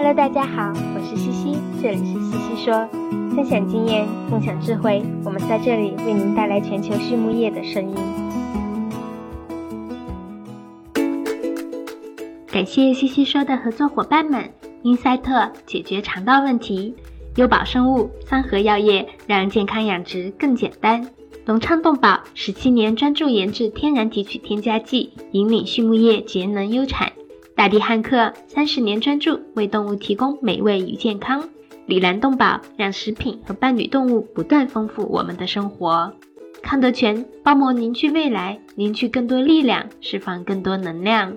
Hello， 大家好，我是西西，这里是西西说，分享经验，共享智慧，我们在这里为您带来全球畜牧业的声音。感谢西西说的合作伙伴们，英赛特解决肠道问题，优宝生物、三和药业让健康养殖更简单，隆昌动宝17年专注研制天然提取添加剂，引领畜牧业节能优产。大地汉克30年专注为动物提供美味与健康，里兰动宝让食品和伴侣动物不断丰富我们的生活。康德全包膜凝聚未来，凝聚更多力量，释放更多能量。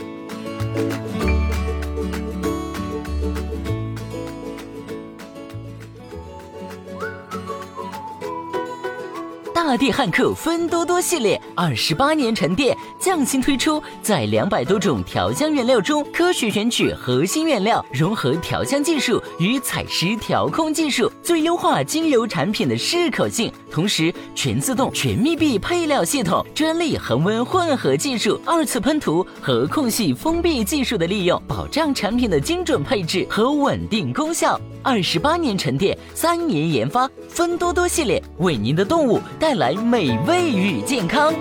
大地汉克芬多多系列28年沉淀，匠心推出，在200多种调香原料中科学选取核心原料，融合调香技术与采湿调控技术，最优化精油产品的适口性，同时全自动全密闭配料系统，专利恒温混合技术，2次喷涂和空隙封闭技术的利用，保障产品的精准配置和稳定功效。28年沉淀，3年研发，芬多多系列为您的动物带来美味与健康。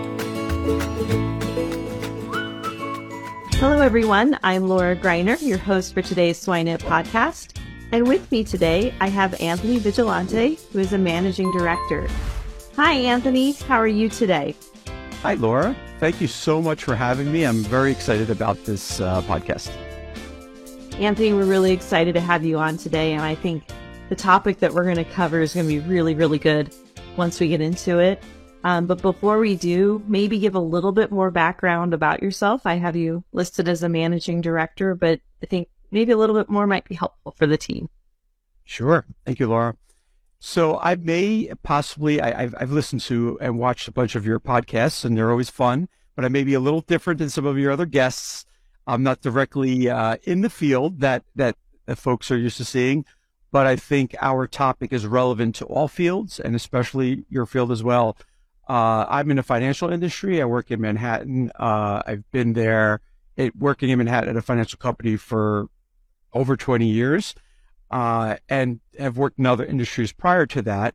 Hello, everyone. I'm Laura Greiner, your host for today's SwineNet podcast. And with me today, I have Anthony Vigilante, who is a managing director. Hi, Anthony. How are you today? Hi, Laura. Thank you so much for having me. I'm very excited about this podcast. Anthony, we're really excited to have you on today. And I think the topic that we're going to cover is going to be really, really good once we get into it. But before we do, maybe give a little bit more background about yourself. I have you listed as a managing director, but I think maybe a little bit more might be helpful for the team. Sure. Thank you, Laura. So I may possibly, I've listened to and watched a bunch of your podcasts, and they're always fun, but I may be a little different than some of your other guests. I'm not directly in the field that folks are used to seeing, but I think our topic is relevant to all fields, and especially your field as well. I'm in the financial industry. I work in Manhattan. I've been there working in Manhattan at a financial company for over 20 years, and have worked in other industries prior to that.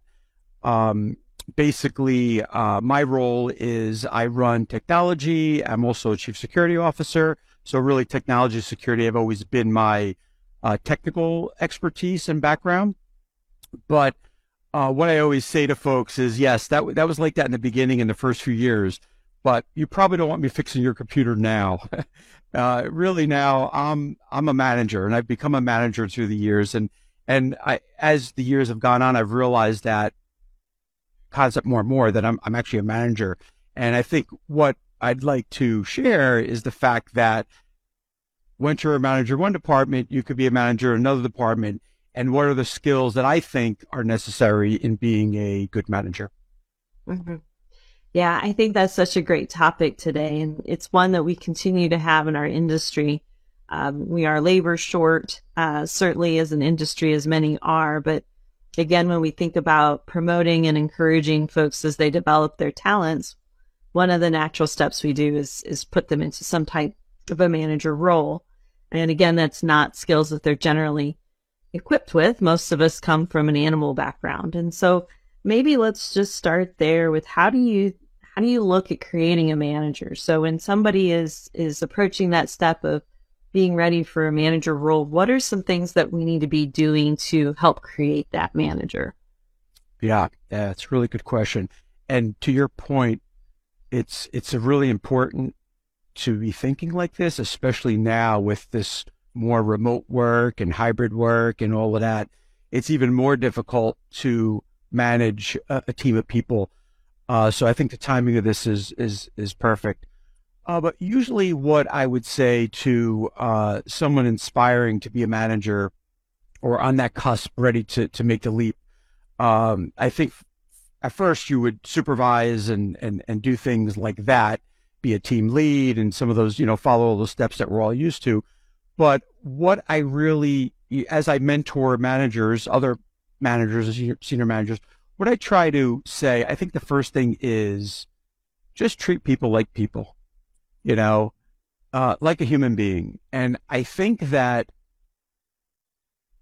Basically, my role is I run technology. I'm also a chief security officer. So really technology security have always been my technical expertise and background. But what I always say to folks is, yes, that was like that in the beginning in the first few years, but you probably don't want me fixing your computer now. Really now I'm a manager, and I've become a manager through the years. And as the years have gone on, I've realized that concept more and more, that I'm actually a manager. And I think what I'd like to share is the fact that once you're a manager in one department, you could be a manager in another department. And what are the skills that I think are necessary in being a good manager? Mm-hmm. Yeah, I think that's such a great topic today. And it's one that we continue to have in our industry. We are labor short, certainly as an industry, as many are. But again, when we think about promoting and encouraging folks as they develop their talents, one of the natural steps we do is put them into some type of a manager role. And again, that's not skills that they're generally equipped with. Most of us come from an animal background. And so maybe let's just start there with how do you look at creating a manager? So when somebody is approaching that step of being ready for a manager role, what are some things that we need to be doing to help create that manager? Yeah, that's a really good question. And to your point, it's a really important to be thinking like this, especially now with this more remote work and hybrid work and all of that. It's even more difficult to manage a team of people. So I think the timing of this is perfect. But usually what I would say to someone inspiring to be a manager or on that cusp ready to make the leap, I think at first you would supervise and do things like that, be a team lead and some of those, follow all those steps that we're all used to. But what I really, as I mentor managers, other managers, senior managers, what I try to say, I think the first thing is just treat people like people, like a human being. And I think that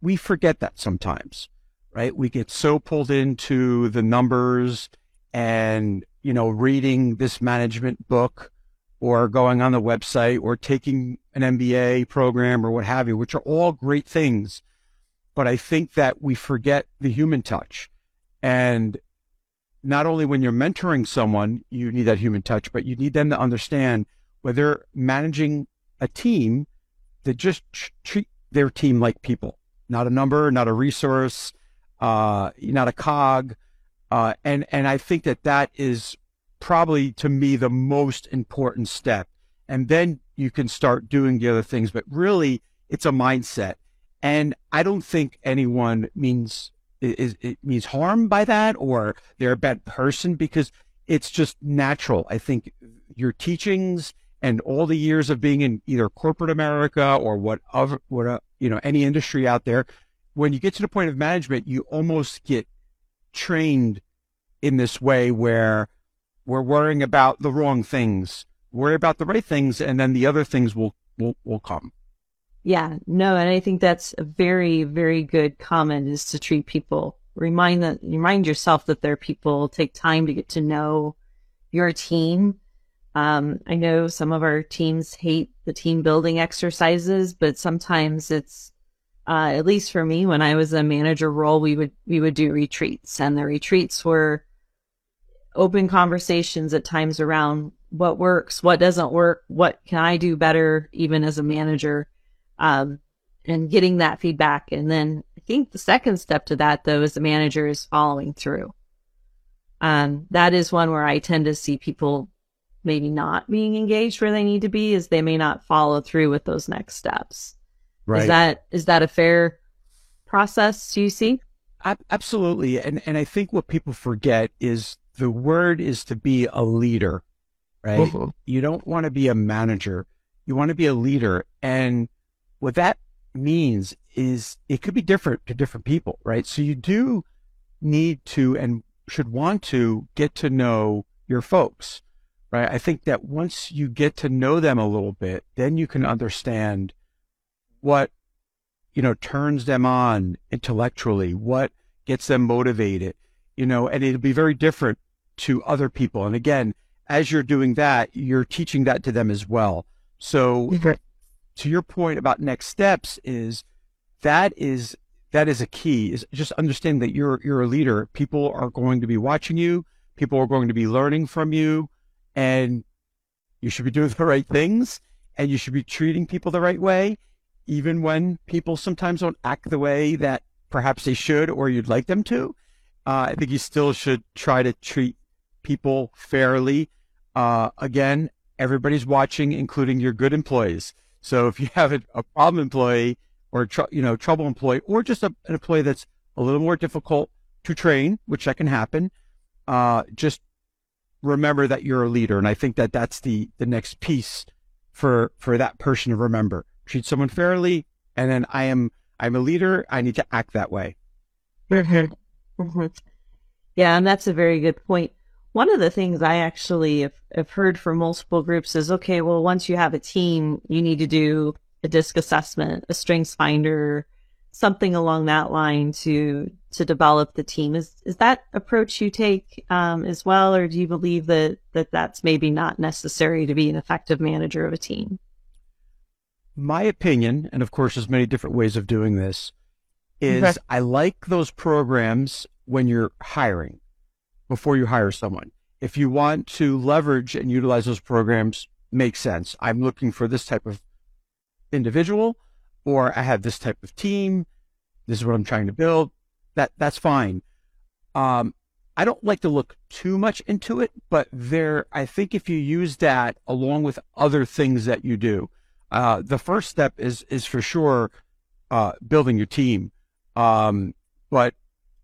we forget that sometimes, right? We get so pulled into the numbers and, reading this management book or going on the website or taking an MBA program or what have you, which are all great things. But I think that we forget the human touch. And not only when you're mentoring someone, you need that human touch, but you need them to understand whether managing a team, to just treat their team like people, not a number, not a resource, not a cog. And I think that is probably, to me, the most important step. And then you can start doing the other things, but really it's a mindset. And I don't think anyone means harm by that, or they're a bad person, because it's just natural. I think your teachings and all the years of being in either corporate America or any industry out there, when you get to the point of management, you almost get trained in this way where we're worrying about the wrong things, worry about the right things, and then the other things will come. Yeah, no, and I think that's a very, very good comment, is to treat people. Remind yourself that they're people. Take time to get to know your team. I know some of our teams hate the team building exercises, but sometimes it's, at least for me, when I was a manager role, we would do retreats, and the retreats were open conversations at times around what works, what doesn't work, what can I do better, even as a manager, and getting that feedback. And then I think the second step to that, though, as a manager, is following through. That is one where I tend to see people maybe not being engaged where they need to be, is they may not follow through with those next steps. Right. Is that a fair process, do you see? Absolutely. And I think what people forget is the word is to be a leader, right? Mm-hmm. You don't want to be a manager. You want to be a leader. And what that means is it could be different to different people, right? So you do need to and should want to get to know your folks, right? I think that once you get to know them a little bit, then you can understand what, turns them on intellectually, what gets them motivated, and it'll be very different to other people. And again, as you're doing that, you're teaching that to them as well. So to your point about next steps, that is a key, is just understand that you're a leader. People are going to be watching you. People are going to be learning from you, and you should be doing the right things, and you should be treating people the right way, even when people sometimes don't act the way that perhaps they should or you'd like them to. I think you still should try to treat people fairly. Again, everybody's watching, including your good employees. So if you have a problem employee or trouble employee, or just an employee that's a little more difficult to train, which that can happen, just remember that you're a leader. And I think that that's the next piece for that person to remember. Treat someone fairly, and then I'm a leader. I need to act that way. Mm-hmm. Yeah, and that's a very good point. One of the things I actually have heard from multiple groups is, okay, well, once you have a team, you need to do a DISC assessment, a strengths finder, something along that line to develop the team. Is that approach you take as well, or do you believe that's maybe not necessary to be an effective manager of a team? My opinion, and of course there's many different ways of doing this, is I like those programs when you're hiring, before you hire someone. If you want to leverage and utilize those programs, makes sense. I'm looking for this type of individual, or I have this type of team. This is what I'm trying to build. That's fine. I don't like to look too much into it, but I think if you use that along with other things that you do, the first step is for sure building your team. But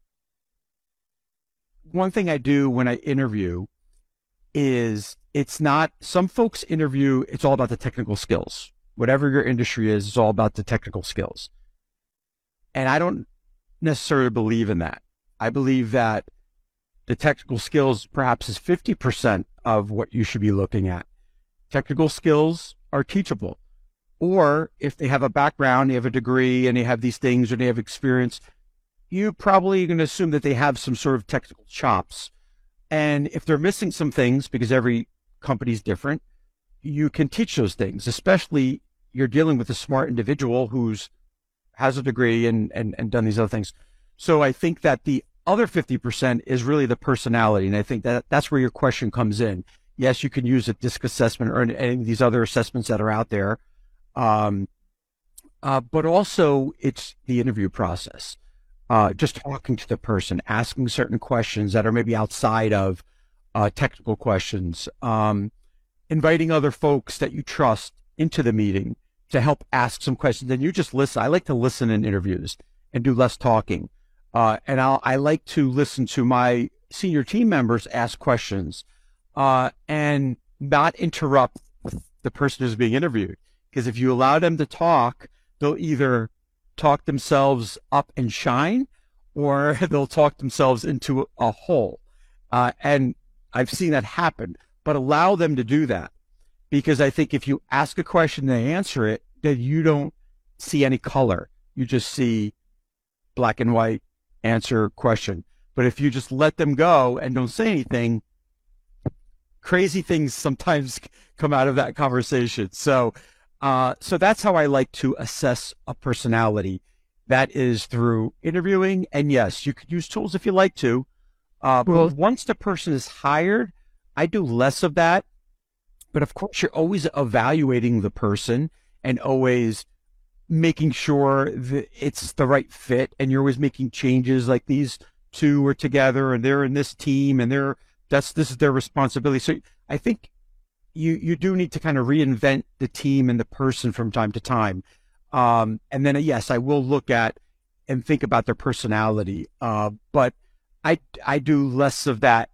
one thing I do when I interview is some folks interview, it's all about the technical skills. Whatever your industry is, it's all about the technical skills. And I don't necessarily believe in that. I believe that the technical skills perhaps is 50% of what you should be looking at. Technical skills are teachable. Or if they have a background, they have a degree and they have these things or they have experience, you probably going to assume that they have some sort of technical chops. And if they're missing some things, because every company is different, you can teach those things, especially you're dealing with a smart individual who's has a degree and done these other things. So I think that the other 50% is really the personality. And I think that that's where your question comes in. Yes, you can use a DISC assessment or any of these other assessments that are out there. But also it's the interview process. Just talking to the person, asking certain questions that are maybe outside of technical questions, inviting other folks that you trust into the meeting to help ask some questions. And you just listen. I like to listen in interviews and do less talking. And I like to listen to my senior team members ask questions and not interrupt the person who's being interviewed. Because if you allow them to talk, they'll either talk themselves up and shine, or they'll talk themselves into a hole. And I've seen that happen, but allow them to do that. Because I think if you ask a question and they answer it, then you don't see any color. You just see black and white, answer, question. But if you just let them go and don't say anything, crazy things sometimes come out of that conversation. So that's how I like to assess a personality. That is through interviewing. And yes, you could use tools if you like to. But once the person is hired, I do less of that. But of course, you're always evaluating the person and always making sure that it's the right fit. And you're always making changes, like these two are together and they're in this team and this is their responsibility. So I think you do need to kind of reinvent the team and the person from time to time. And then, yes, I will look at and think about their personality. But I do less of that,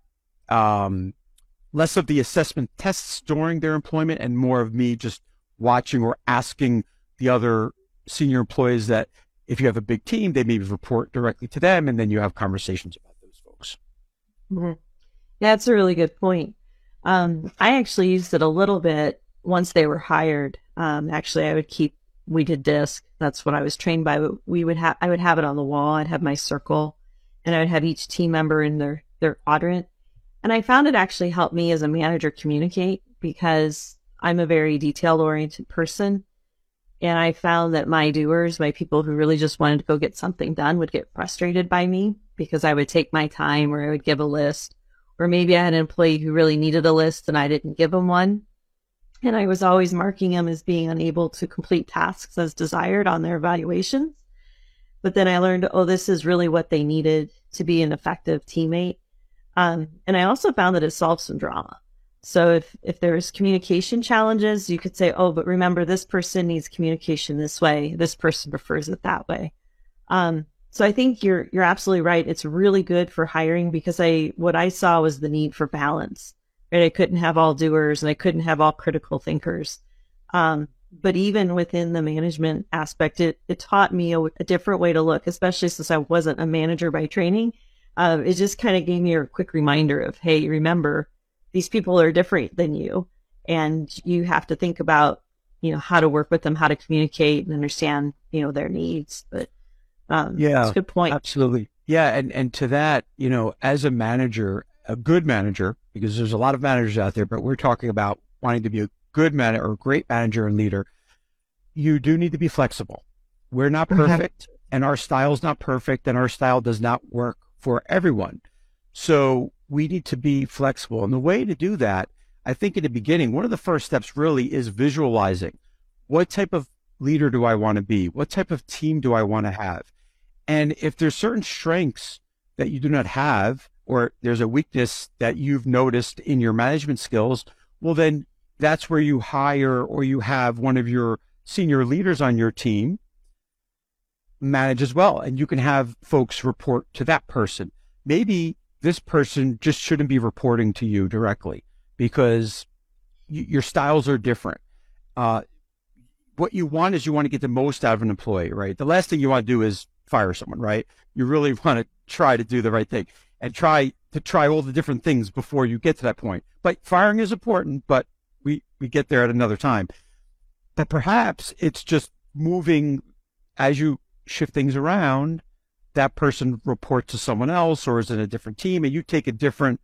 less of the assessment tests during their employment and more of me just watching or asking the other senior employees that if you have a big team, they maybe report directly to them, and then you have conversations about those folks. Mm-hmm. Yeah, that's a really good point. I actually used it a little bit once they were hired. Actually, we did DISC. That's what I was trained by. But I would have it on the wall. I'd have my circle, and I would have each team member in their quadrant. And I found it actually helped me as a manager communicate, because I'm a very detail-oriented person. And I found that my doers, my people who really just wanted to go get something done, would get frustrated by me because I would take my time, or I would give a list. Or maybe I had an employee who really needed a list and I didn't give them one. And I was always marking them as being unable to complete tasks as desired on their evaluations. But then I learned, this is really what they needed to be an effective teammate. And I also found that it solved some drama. So if there's communication challenges, you could say, but remember, this person needs communication this way. This person prefers it that way. So I think you're absolutely right. It's really good for hiring, because what I saw was the need for balance. Right? I couldn't have all doers and I couldn't have all critical thinkers. But even within the management aspect, it taught me a different way to look, especially since I wasn't a manager by training. It just kind of gave me a quick reminder of, hey, remember, these people are different than you, and you have to think about, how to work with them, how to communicate and understand, their needs. But yeah, that's a good point. Absolutely. Yeah. And to that, as a manager, a good manager, because there's a lot of managers out there, but we're talking about wanting to be a good manager or a great manager and leader, you do need to be flexible. We're not perfect, and our style's not perfect, and our style does not work for everyone. So we need to be flexible. And the way to do that, I think in the beginning, one of the first steps really is visualizing. What type of leader do I want to be? What type of team do I want to have? And if there's certain strengths that you do not have, or there's a weakness that you've noticed in your management skills, well, then that's where you hire, or you have one of your senior leaders on your team manage as well. And you can have folks report to that person. Maybe this person just shouldn't be reporting to you directly because your styles are different. What you want is you want to get the most out of an employee, right? The last thing you want to do is fire someone, right? You really want to try to do the right thing and try all the different things before you get to that point. But firing is important, but we get there at another time. that perhaps it's just moving as you shift things around, that person reports to someone else or is in a different team, and you take a different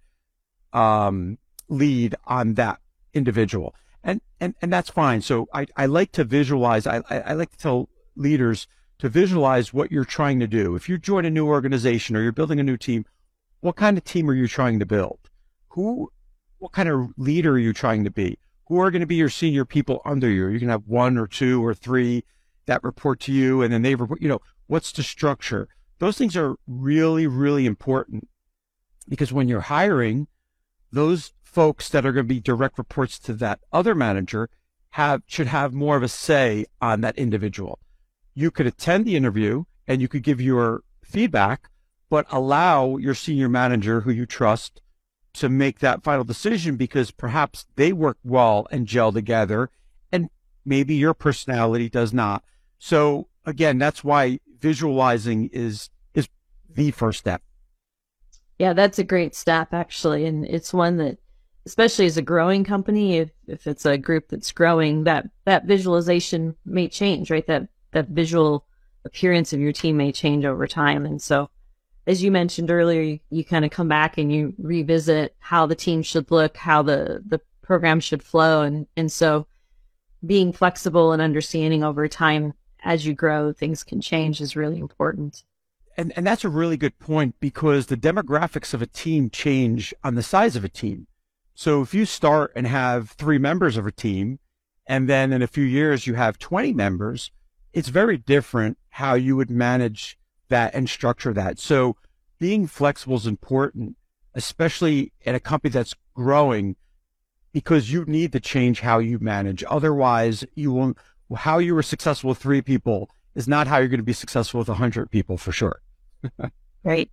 lead on that individual. And that's fine. So I like to visualize, I like to tell leaders to visualize what you're trying to do. If you join a new organization or you're building a new team, what kind of team are you trying to build? What kind of leader are you trying to be? Who are going to be your senior people under you? You can have 1 or 2 or 3 that report to you, and then they report, what's the structure? Those things are really, really important, because when you're hiring, those folks that are going to be direct reports to that other manager should have more of a say on that individual. You could attend the interview and you could give your feedback, but allow your senior manager who you trust to make that final decision, because perhaps they work well and gel together and maybe your personality does not. So again, that's why visualizing is the first step. Yeah, that's a great step, actually. And it's one that, especially as a growing company, if it's a group that's growing, that visualization may change, right? That visual appearance of your team may change over time. And so, as you mentioned earlier, you kind of come back and you revisit how the team should look, how the program should flow. And so being flexible and understanding over time as you grow, things can change is really important. And that's a really good point, because the demographics of a team change on the size of a team. So if you start and have 3 members of a team, and then in a few years you have 20 members, it's very different how you would manage that and structure that. So being flexible is important, especially at a company that's growing, because you need to change how you manage. Otherwise, how you were successful with 3 people is not how you're going to be successful with 100 people for sure. Right.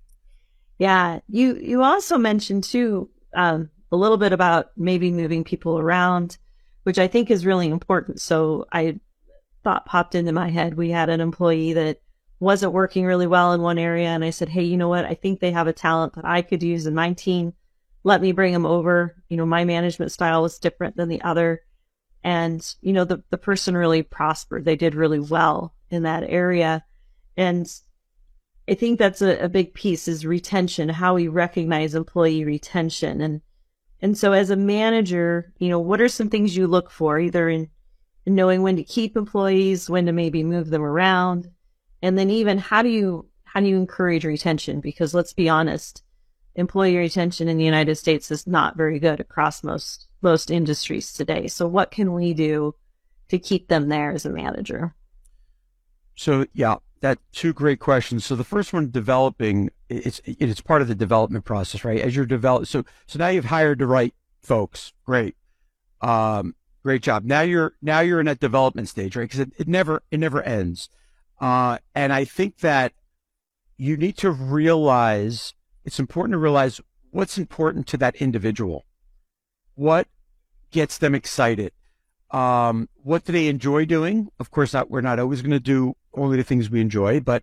Yeah. You also mentioned too, a little bit about maybe moving people around, which I think is really important. So thought popped into my head. We had an employee that wasn't working really well in one area. And I said, hey, you know what? I think they have a talent that I could use in my team. Let me bring them over. My management style was different than the other. And, the person really prospered. They did really well in that area. And I think that's a big piece, is retention, how we recognize employee retention. And so as a manager, what are some things you look for, either in knowing when to keep employees, when to maybe move them around, and then even how do you encourage retention? Because let's be honest, employee retention in the United States is not very good across most industries today. So what can we do to keep them there as a manager? So yeah, that's 2 great questions. So the first one, developing, it's part of the development process, right? As you're so now you've hired the right folks. Great. Great job. Now you're in that development stage, right? Because it never ends. And I think that you need to realize, it's important to realize what's important to that individual. What gets them excited? What do they enjoy doing? Of course, we're not always going to do only the things we enjoy, but,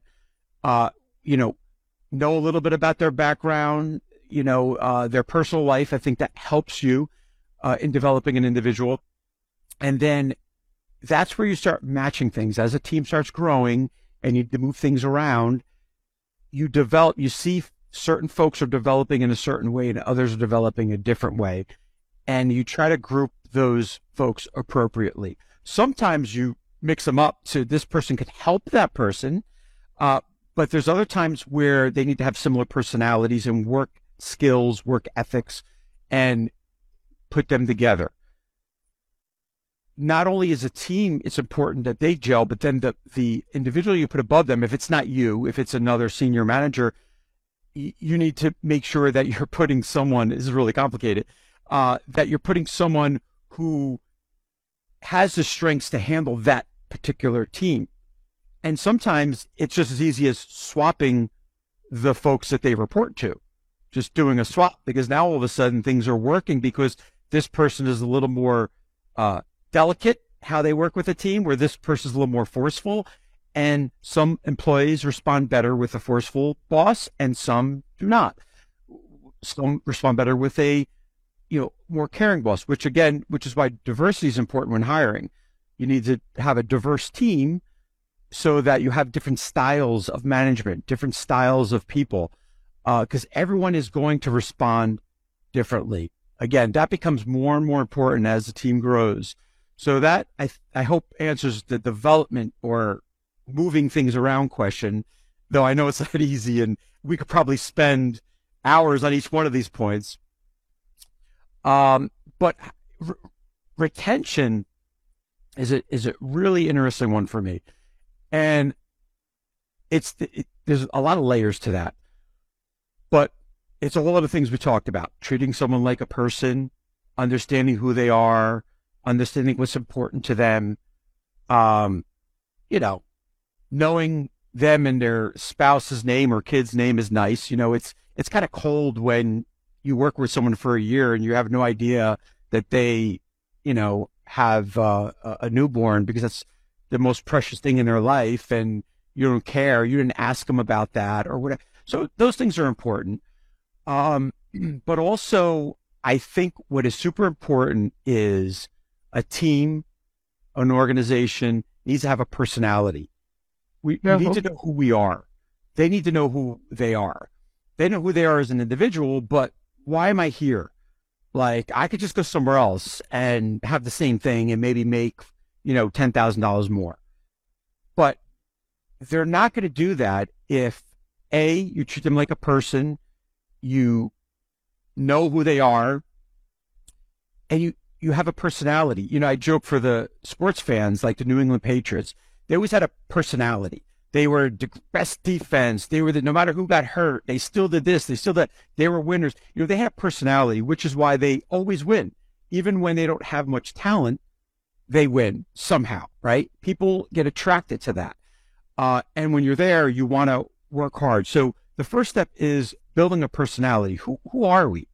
know a little bit about their background, their personal life. I think that helps you in developing an individual. And then that's where you start matching things. As a team starts growing and you move things around, you see certain folks are developing in a certain way and others are developing a different way. And you try to group those folks appropriately. Sometimes you mix them up so this person could help that person. But there's other times where they need to have similar personalities and work skills, work ethics, and put them together. Not only as a team, it's important that they gel, but then the individual you put above them, if it's not you, if it's another senior manager, you need to make sure that you're putting someone, this is really complicated, that you're putting someone who has the strengths to handle that particular team. And sometimes it's just as easy as swapping the folks that they report to, just doing a swap, because now all of a sudden things are working because this person is a little more delicate how they work with a team, where this person is a little more forceful. And some employees respond better with a forceful boss and some do not. Some respond better with a more caring boss, which is why diversity is important when hiring. You need to have a diverse team so that you have different styles of management, different styles of people, because everyone is going to respond differently. Again, that becomes more and more important as the team grows. So that I hope answers the development or moving things around question, though I know it's not easy and we could probably spend hours on each one of these points. But retention is a really interesting one for me. And there's a lot of layers to that, but it's all of the things we talked about: treating someone like a person, understanding who they are, understanding what's important to them, knowing them and their spouse's name or kid's name is nice. It's kind of cold when you work with someone for a year and you have no idea that they, have a newborn, because that's the most precious thing in their life, and you don't care. You didn't ask them about that or whatever. So those things are important. But also, I think what is super important is a team, an organization needs to have a personality. We need to know who we are. They need to know who they are. They know who they are as an individual, but why am I here? Like, I could just go somewhere else and have the same thing and maybe make, $10,000 more. But they're not going to do that if you treat them like a person, you know who they are, and you have a personality. I joke for the sports fans, like the New England Patriots, they always had a personality. They were the best defense. They were no matter who got hurt, they still did this. They still did. They were winners. They had a personality, which is why they always win. Even when they don't have much talent, they win somehow, right? People get attracted to that. And when you're there, you want to work hard. So the first step is building a personality. Who are we?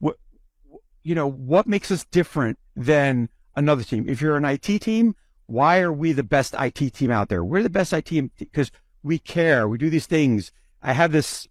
What makes us different than another team? If you're an IT team, why are we the best IT team out there? We're the best IT team because we care. We do these things. I have this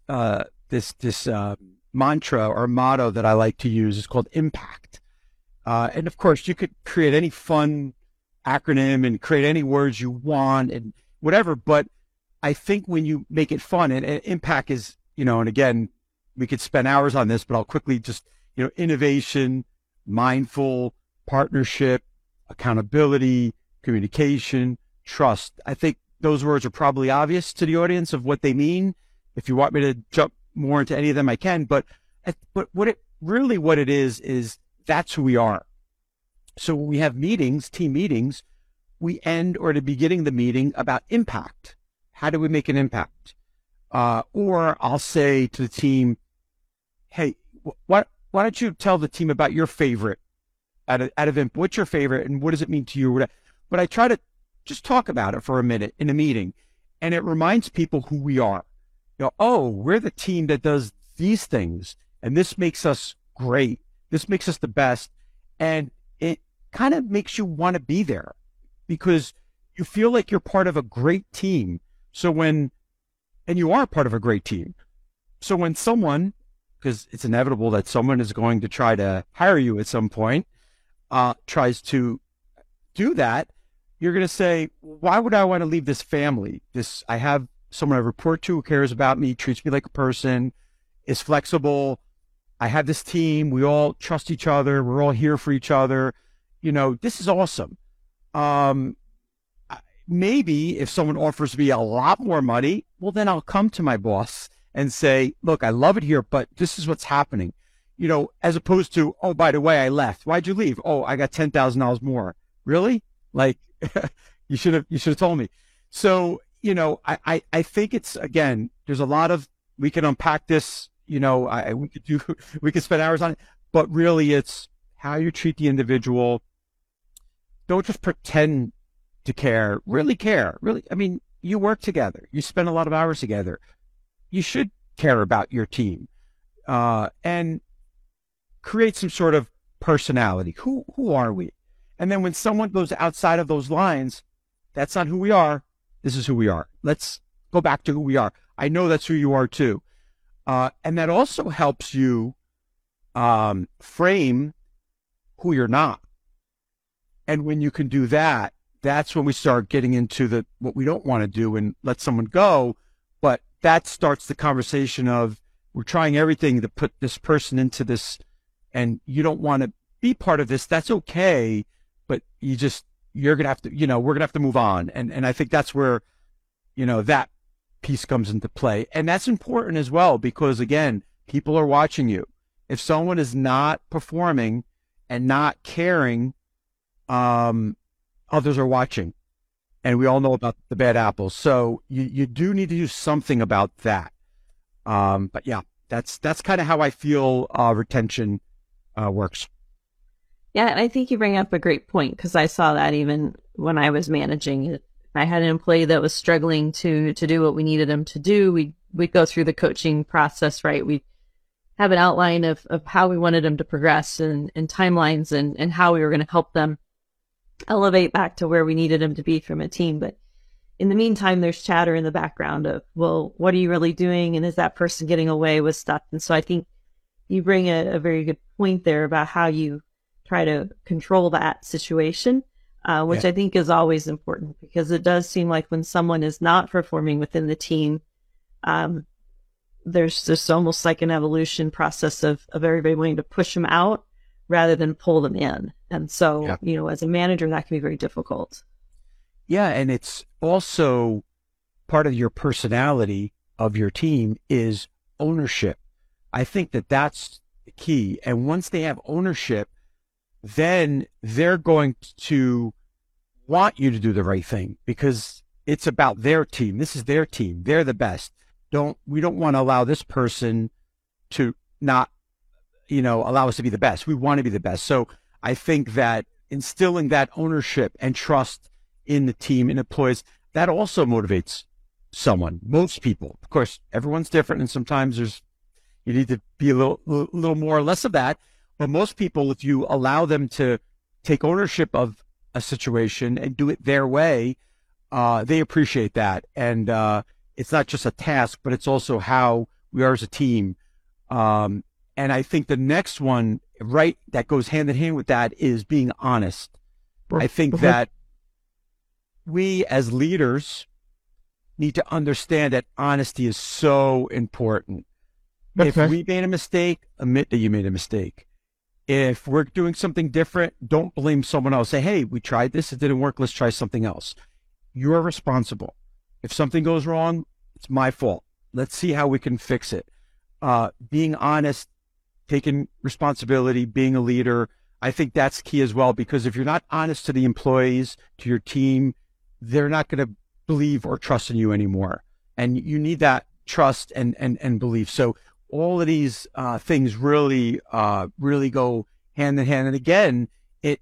mantra or motto that I like to use. It's called impact. And of course, you could create any fun acronym and create any words you want and whatever. But I think when you make it fun, and impact is, and again, we could spend hours on this, but I'll quickly just, innovation, mindful, partnership, accountability, communication, trust. I think those words are probably obvious to the audience of what they mean. If you want me to jump more into any of them, I can. But what it is that's who we are. So when we have meetings, team meetings, we end or at the beginning of the meeting about impact. How do we make an impact? Or I'll say to the team, hey, why don't you tell the team about your favorite out of what's your favorite and what does it mean to you? But I try to just talk about it for a minute in a meeting, and it reminds people who we are. We're the team that does these things, and this makes us great. This makes us the best, and it kind of makes you want to be there because you feel like you're part of a great team. And you are part of a great team. So when someone, because it's inevitable that someone is going to try to hire you at some point, tries to do that, you're going to say, why would I want to leave this family? I have someone I report to who cares about me, treats me like a person, is flexible. I have this team. We all trust each other. We're all here for each other. This is awesome. Maybe if someone offers me a lot more money, well, then I'll come to my boss and say, look, I love it here, but this is what's happening. As opposed to, oh, by the way, I left. Why'd you leave? Oh, I got $10,000 more. Really? Like, you should have told me. So, I think it's, again, there's a lot of, we can unpack this, we could spend hours on it, but really it's how you treat the individual. Don't just pretend to care, really care. Really, I mean, you work together. You spend a lot of hours together. You should care about your team, and create some sort of personality. Who are we? And then when someone goes outside of those lines, that's not who we are. This is who we are. Let's go back to who we are. I know that's who you are too. And that also helps you frame who you're not. And when you can do that, that's when we start getting into what we don't want to do and let someone go. But that starts the conversation of, we're trying everything to put this person into this, and you don't want to be part of this. That's okay, but you're going to have to, we're going to have to move on. And I think that's where, that piece comes into play. And that's important as well, because again, people are watching you. If someone is not performing and not caring, others are watching, and we all know about the bad apples. So you do need to do something about that. But yeah, that's kind of how I feel retention works. Yeah, and I think you bring up a great point, because I saw that even when I was managing it. I had an employee that was struggling to do what we needed him to do. We'd go through the coaching process, right? We'd have an outline of how we wanted them to progress and timelines and how we were going to help them elevate back to where we needed them to be from a team. But in the meantime, there's chatter in the background of, well, what are you really doing? And is that person getting away with stuff? And so I think you bring a very good point there about how you try to control that situation, which I think is always important, because it does seem like when someone is not performing within the team, there's just almost like an evolution process of everybody wanting to push them out rather than pull them in. And so, as a manager, that can be very difficult. Yeah. And it's also part of your personality of your team is ownership. I think that's the key. And once they have ownership, then they're going to want you to do the right thing, because it's about their team. This is their team. They're the best. We don't want to allow this person to not, allow us to be the best. We want to be the best. So I think that instilling that ownership and trust in the team and employees, that also motivates someone. Most people, of course, everyone's different, and sometimes you need to be a little more or less of that. But most people, if you allow them to take ownership of a situation and do it their way, they appreciate that. And it's not just a task, but it's also how we are as a team. And I think the next one, right, that goes hand in hand with that is being honest. I think that we as leaders need to understand that honesty is so important. If we made a mistake, admit that you made a mistake. If we're doing something different, don't blame someone else. Say, hey, we tried this, it didn't work, let's try something else. You're responsible. If something goes wrong, it's my fault. Let's see how we can fix it. Being honest, taking responsibility, being a leader, I think that's key as well, because if you're not honest to the employees, to your team, they're not going to believe or trust in you anymore. And you need that trust and belief. So all of these things really go hand in hand. And again, it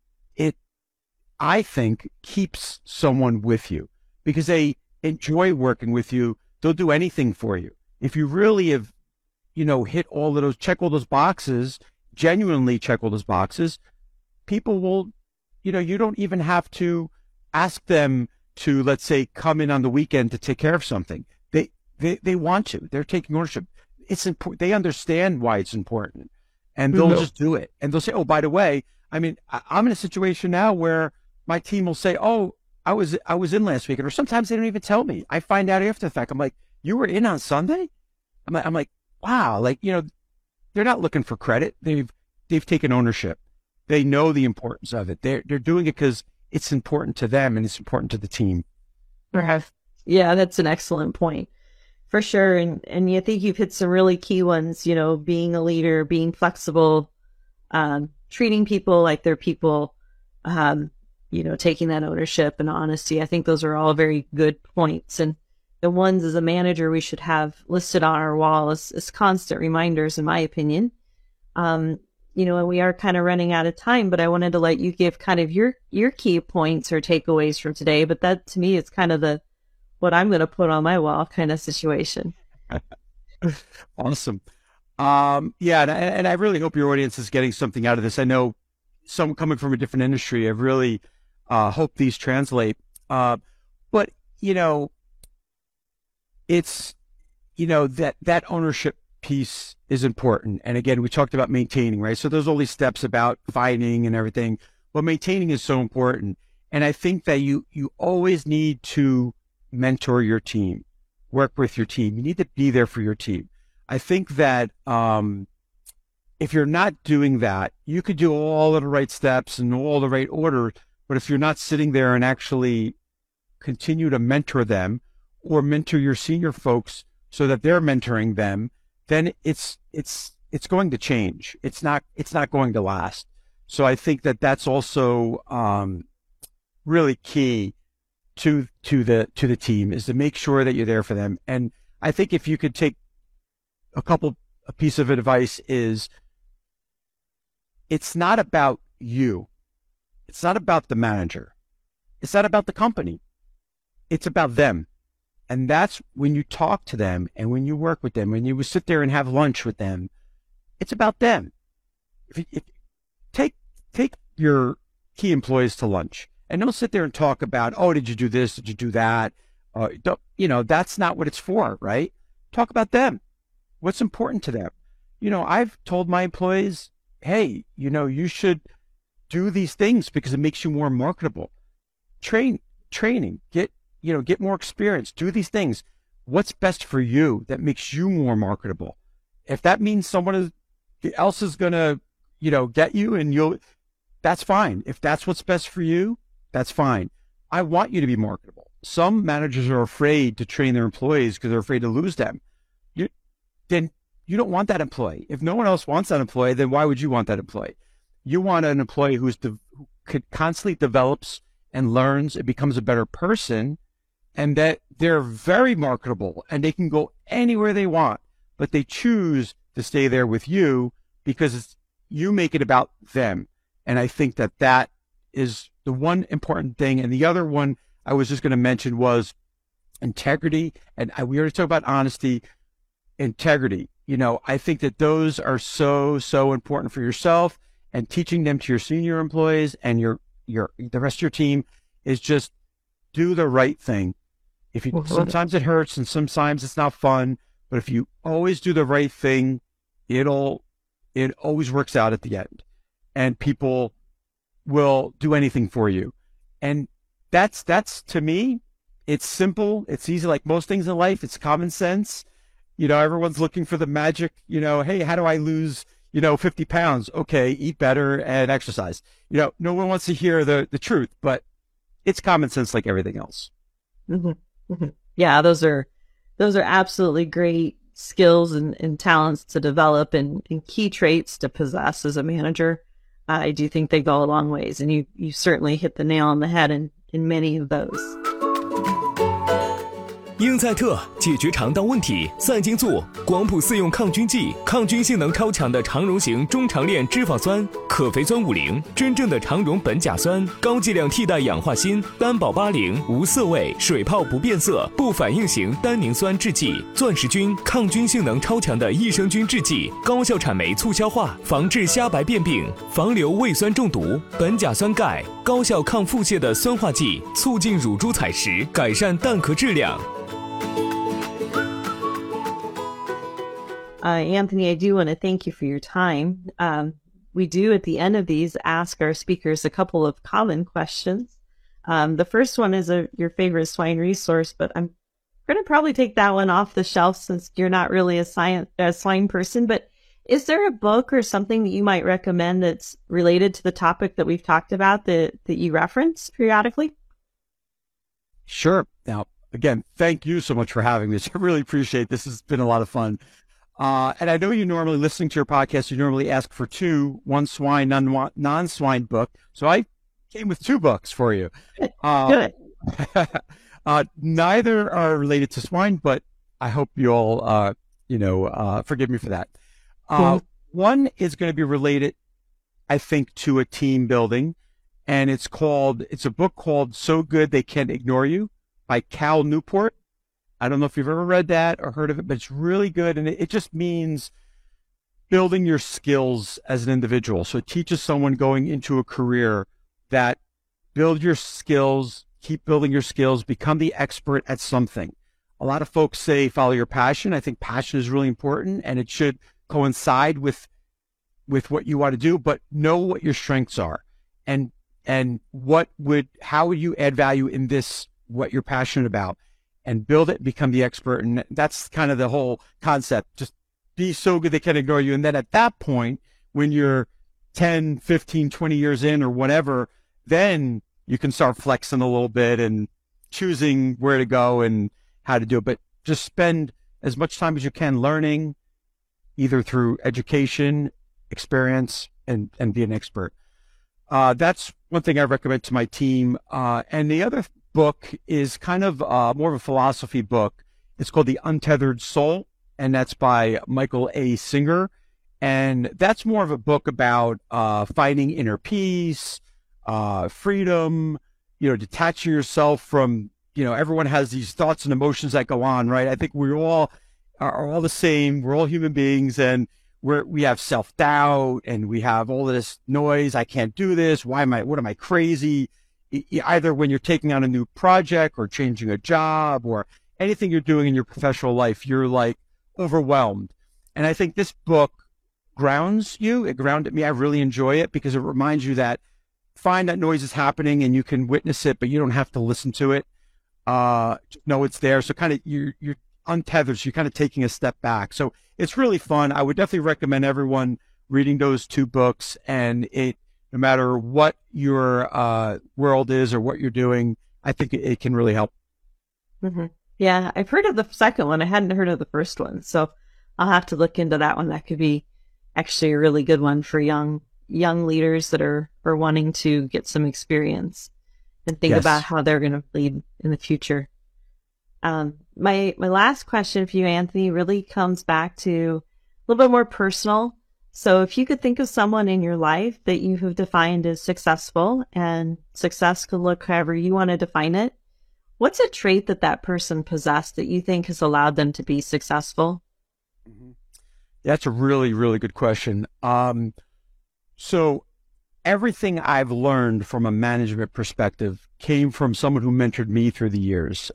I think keeps someone with you, because they enjoy working with you. They'll do anything for you. If you really have, hit all of those, check all those boxes, genuinely check all those boxes, people will, you don't even have to ask them to, let's say, come in on the weekend to take care of something. They want to. They're taking ownership. It's important. They understand why it's important, and they'll just do it. And they'll say, "Oh, by the way, I'm in a situation now where my team will say, oh, I was in last weekend,' or sometimes they don't even tell me. I find out after the fact. I'm like, you were in on Sunday? I'm like, wow, they're not looking for credit. They've taken ownership. They know the importance of it. They're doing it because it's important to them and it's important to the team. Yeah, that's an excellent point. For sure. And I think you've hit some really key ones, being a leader, being flexible, treating people like they're people, taking that ownership and honesty. I think those are all very good points. And the ones as a manager we should have listed on our wall as constant reminders, in my opinion. And we are kind of running out of time, but I wanted to let you give kind of your key points or takeaways from today. But that to me is kind of what I'm going to put on my wall kind of situation. Awesome. Yeah. And I really hope your audience is getting something out of this. I know some coming from a different industry, I really hope these translate. But, it's, that ownership piece is important. And again, we talked about maintaining, right? So there's all these steps about finding and everything, but maintaining is so important. And I think that you always need to mentor your team, work with your team. You need to be there for your team. I think that if you're not doing that, you could do all of the right steps and all the right order, but if you're not sitting there and actually continue to mentor them or mentor your senior folks so that they're mentoring them, then it's going to change. It's not going to last. So I think that that's also really key to the team, is to make sure that you're there for them. And I think if you could take a piece of advice is, it's not about you. It's not about the manager. It's not about the company. It's about them. And that's when you talk to them and when you work with them, when you sit there and have lunch with them, it's about them. Take your key employees to lunch and don't sit there and talk about, oh, did you do this? Did you do that? That's not what it's for, right? Talk about them. What's important to them? I've told my employees, hey, you should do these things because it makes you more marketable. Training, get more experience, do these things. What's best for you that makes you more marketable? If that means someone else is going to, get you and that's fine. If that's what's best for you, that's fine. I want you to be marketable. Some managers are afraid to train their employees because they're afraid to lose them. Then you don't want that employee. If no one else wants that employee, then why would you want that employee? You want an employee who constantly develops and learns and becomes a better person, and that they're very marketable and they can go anywhere they want, but they choose to stay there with you because you make it about them. And I think that is the one important thing. And the other one I was just going to mention was integrity. And we already talked about honesty. Integrity. I think that those are so important for yourself, and teaching them to your senior employees and the rest of your team is just do the right thing. Sometimes it hurts and sometimes it's not fun, but if you always do the right thing, it always works out at the end, and people will do anything for you. And that's to me, it's simple. It's easy. Like most things in life, it's common sense. Everyone's looking for the magic, hey, how do I lose, 50 pounds? Okay, eat better and exercise. No one wants to hear the truth, but it's common sense like everything else. Mm-hmm. Mm-hmm. Yeah, those are absolutely great skills and talents to develop and key traits to possess as a manager. I do think they go a long ways, and you certainly hit the nail on the head in many of those. 英赛特解决肠道问题，赛金素广谱四用抗菌剂，抗菌性能超强的肠溶型中长链脂肪酸，可肥酸50，真正的肠溶苯甲酸，高剂量替代氧化锌，单保80，无色味，水泡不变色，不反应型单宁酸制剂，钻石菌抗菌性能超强的益生菌制剂，高效产酶促消化，防治虾白变病，防流胃酸中毒，苯甲酸钙，高效抗腹泻的酸化剂，促进乳猪采食，改善蛋壳质量。 Anthony, I do want to thank you for your time. We do at the end of these ask our speakers a couple of common questions. The first one is your favorite swine resource, but I'm going to probably take that one off the shelf since you're not really a swine person. But is there a book or something that you might recommend that's related to the topic that we've talked about that you reference periodically? Sure. Now, again, thank you so much for having me. I really appreciate this. Has been a lot of fun. And I know you normally, listening to your podcast, you normally ask for one swine, non-swine book. So I came with 2 books for you. Good. Neither are related to swine, but I hope you'll, forgive me for that. One is going to be related, I think, to a team building, and it's a book called So Good They Can't Ignore You by Cal Newport. I don't know if you've ever read that or heard of it, but it's really good. And it just means building your skills as an individual. So it teaches someone going into a career that build your skills, keep building your skills, become the expert at something. A lot of folks say follow your passion. I think passion is really important, and it should coincide with what you want to do, but know what your strengths are and and how would you add value in this, what you're passionate about, and build it, become the expert. And that's kind of the whole concept. Just be so good they can't ignore you. And then at that point, when you're 10, 15, 20 years in or whatever, then you can start flexing a little bit and choosing where to go and how to do it. But just spend as much time as you can learning, either through education, experience, and be an expert. That's one thing I recommend to my team. And the other book is kind of more of a philosophy book. It's called The Untethered Soul, and that's by Michael A. Singer. And that's more of a book about finding inner peace, freedom, detaching yourself from, everyone has these thoughts and emotions that go on, right? I think we all are all the same. We're all human beings, and we have self-doubt, and we have all of this noise. I can't do this. What am I crazy? Either when you're taking on a new project or changing a job or anything you're doing in your professional life, you're like overwhelmed. And I think this book grounds you. It grounded me. I really enjoy it because it reminds you that find that noise is happening and you can witness it, but you don't have to listen to it. Know it's there. So kind of you're untethered. So you're kind of taking a step back. So it's really fun. I would definitely recommend everyone reading those two books, and no matter what your world is or what you're doing, I think it can really help. Mm-hmm. Yeah, I've heard of the second one. I hadn't heard of the first one. So I'll have to look into that one. That could be actually a really good one for young leaders that are wanting to get some experience and think about how they're going to lead in the future. My last question for you, Anthony, really comes back to a little bit more personal. So if you could think of someone in your life that you have defined as successful, and success could look however you want to define it, what's a trait that person possessed that you think has allowed them to be successful? Mm-hmm. That's a really, really good question. So everything I've learned from a management perspective came from someone who mentored me through the years.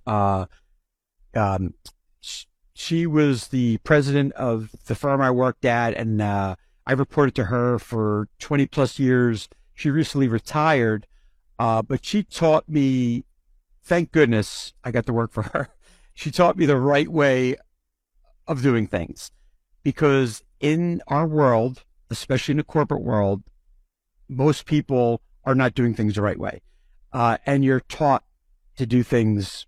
She was the president of the firm I worked at, and I reported to her for 20 plus years. She recently retired, but she taught me, thank goodness I got to work for her. She taught me the right way of doing things, because in our world, especially in the corporate world, most people are not doing things the right way. And you're taught to do things,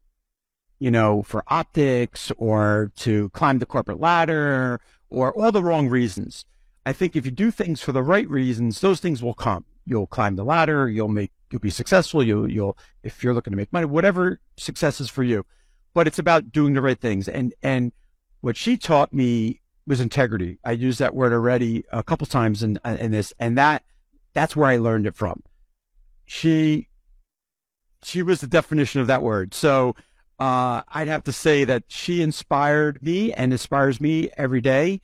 for optics or to climb the corporate ladder or all the wrong reasons. I think if you do things for the right reasons, those things will come. You'll climb the ladder. You'll be successful. You'll, if you're looking to make money, whatever success is for you. But it's about doing the right things. And what she taught me was integrity. I used that word already a couple times in this, and that's where I learned it from. She was the definition of that word. So I'd have to say that she inspired me and inspires me every day.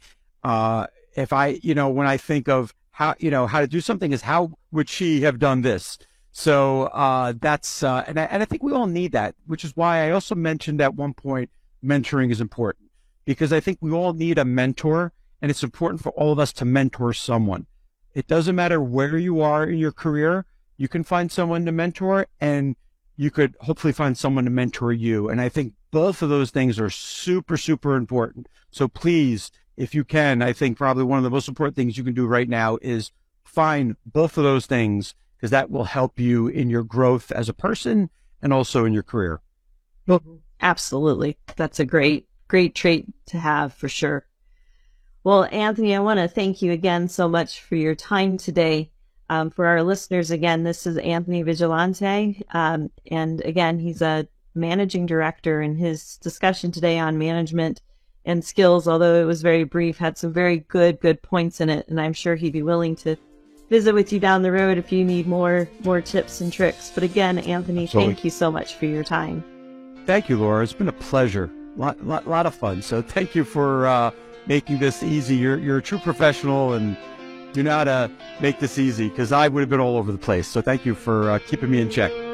If I, when I think of how to do something, is how would she have done this? So that's, and I think we all need that, which is why I also mentioned at one point, mentoring is important, because I think we all need a mentor, and it's important for all of us to mentor someone. It doesn't matter where you are in your career, you can find someone to mentor, and you could hopefully find someone to mentor you. And I think both of those things are super, super important. So please, if you can, I think probably one of the most important things you can do right now is find both of those things, because that will help you in your growth as a person and also in your career. Well, absolutely. That's a great trait to have for sure. Well, Anthony, I want to thank you again so much for your time today. For our listeners, again, this is Anthony Vigilante. And again, he's a managing director, and his discussion today on management and skills, although it was very brief, had some very good points in it. And I'm sure he'd be willing to visit with you down the road if you need more tips and tricks. But again, Anthony, Absolutely. Thank you so much for your time. Thank you, Laura. It's been a pleasure. Lot of fun. So thank you for making this easy. You're a true professional, and you know how to make this easy, because I would have been all over the place. So thank you for keeping me in check.